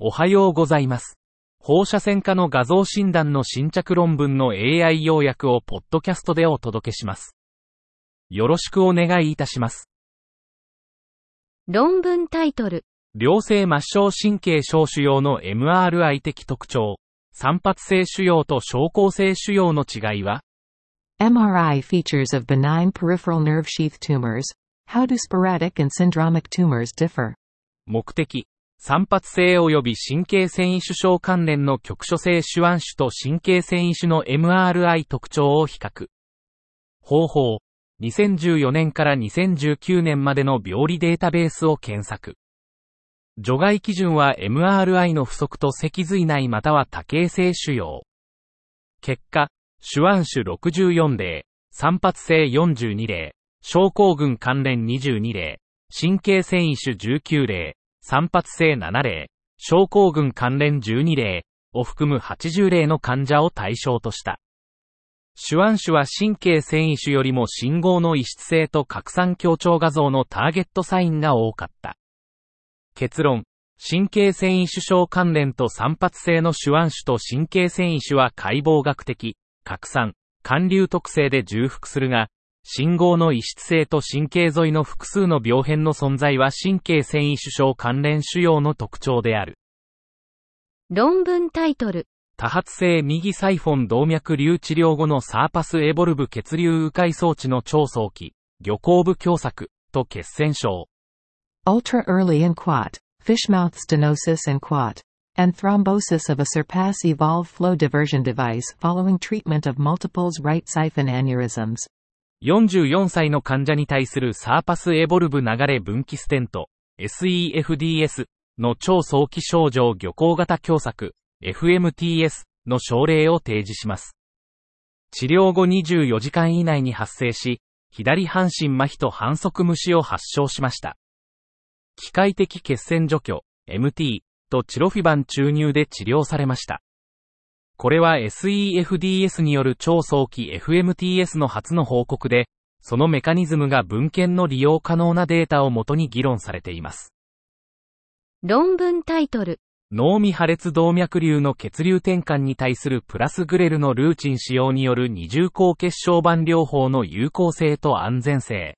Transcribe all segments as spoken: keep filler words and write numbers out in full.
おはようございます。放射線科の画像診断の新着論文の エーアイ 要約をポッドキャストでお届けします。よろしくお願いいたします。 論文タイトル。 良性末梢神経小腫瘍の エムアールアイ 的特徴。散発性腫瘍と小孔性腫瘍の違いは？ エムアールアイ features of benign peripheral nerve sheath tumors. How do sporadic and syndromic tumors differ? 目的。散発性及び神経線維腫症関連の局所性手腕腫と神経線維腫の エムアールアイ 特徴を比較。方法。にせんじゅうよねんからにせんじゅうきゅうねんまでの病理データベースを検索。除外基準は エムアールアイ の不足と脊髄内または多形性腫瘍。結果、手腕腫ろくじゅうよん例、散発性よんじゅうに例、症候群関連にじゅうに例、神経線維腫じゅうきゅう例、散発性なな例、症候群関連じゅうに例を含むはちじゅう例の患者を対象とした。手腕腫は神経線維腫よりも信号の異質性と拡散強調画像のターゲットサインが多かった。結論、神経線維腫症関連と散発性の手腕腫と神経線維腫は解剖学的、拡散、還流特性で重複するが、信号の異質性と神経沿いの複数の病変の存在は神経線維腫症関連腫瘍の特徴である。 論文タイトル。 多発性右サイフォン動脈瘤治療後のサーパスエボルブ血流迂回装置の超早期、魚後部狭窄と血栓症。 Ultra early in quat, fishmouth stenosis and quat, and thrombosis of a surpass evolve flow diversion device following treatment of multiples right siphon aneurysms。 よんじゅうよんさいの患者に対するサーパスエボルブ流れ分岐ステント エスイーエフディーエス の超早期症状魚後型狭窄 エフエムティーエス の症例を提示します。治療後にじゅうよじかん以内に発生し、左半身麻痺と反則無視を発症しました。機械的血栓除去 エムティー とチロフィバン注入で治療されました。これは エスイーエフディーエス による超早期 エフエムティーエス の初の報告で、そのメカニズムが文献の利用可能なデータをもとに議論されています。 論文タイトル。 脳未破裂動脈瘤の血流転換に対するプラスグレルのルーチン使用による二重抗血小板療法の有効性と安全性。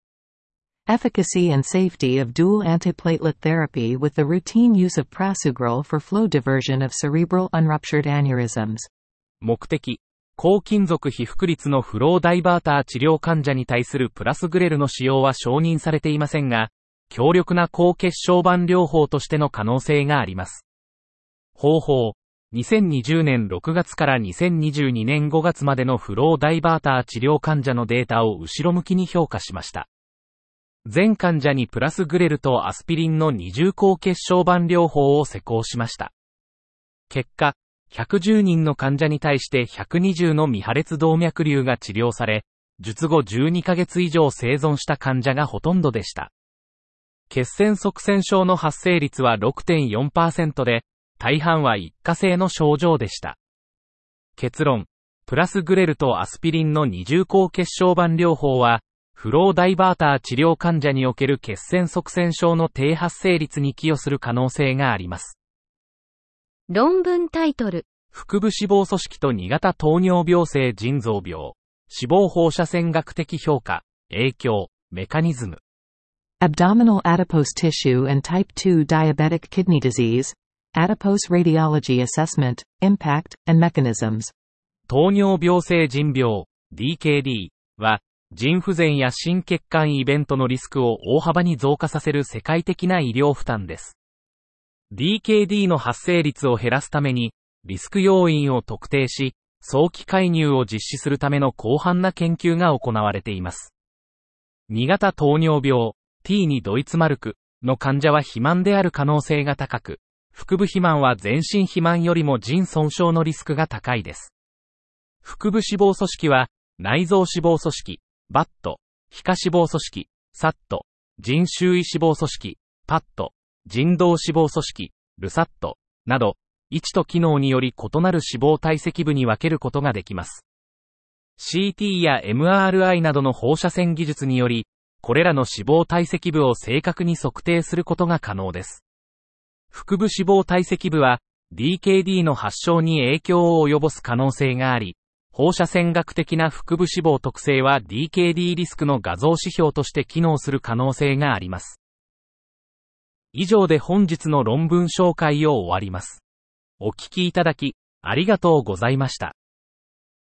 Efficacy and safety of dual antiplatelet therapy with the routine use of prasugrel for flow diversion of cerebral unruptured aneurysms。 目的、高金属被覆率のフローダイバーター治療患者に対するプラスグレルの使用は承認されていませんが、強力な抗血小板療法としての可能性があります。方法、にせんにじゅうねんろくがつからにせんにじゅうにねんごがつまでのフローダイバーター治療患者のデータを後ろ向きに評価しました。全患者にプラスグレルとアスピリンの二重抗血小板療法を施行しました。結果、ひゃくじゅうにんの患者に対してひゃくにじゅうの未破裂動脈瘤が治療され、術後じゅうにかげつ以上生存した患者がほとんどでした。血栓塞栓症の発生率は ろくてんよんパーセント で、大半は一過性の症状でした。結論、プラスグレルとアスピリンの二重抗血小板療法は、フローダイバーター治療患者における血栓塞栓症の低発生率に寄与する可能性があります。 論文タイトル。 腹部脂肪組織とに型糖尿病性腎臓病。脂肪放射線学的評価、影響、メカニズム。 Abdominal adipose tissue and type two diabetic kidney disease. Adipose radiology assessment, impact, and mechanisms。 糖尿病性腎病、ディーケーディー は、腎不全や心血管イベントのリスクを大幅に増加させる世界的な医療負担です。ディーケーディー の発生率を減らすために、リスク要因を特定し、早期介入を実施するための広範な研究が行われています。に型糖尿病、ティーにドイツマルクの患者は肥満である可能性が高く、腹部肥満は全身肥満よりも腎損傷のリスクが高いです。腹部脂肪組織は、内臓脂肪組織、バット、皮下脂肪組織、サット、腎周囲脂肪組織、パット、腎動脂肪組織、ルサット、など、位置と機能により異なる脂肪堆積部に分けることができます。シーティー や エムアールアイ などの放射線技術により、これらの脂肪堆積部を正確に測定することが可能です。 腹部脂肪堆積部は ディーケーディー の発症に影響を及ぼす可能性があり、放射線学的な腹部脂肪特性は ディーケーディー リスクの画像指標として機能する可能性があります。以上で本日の論文紹介を終わります。お聞きいただき、ありがとうございました。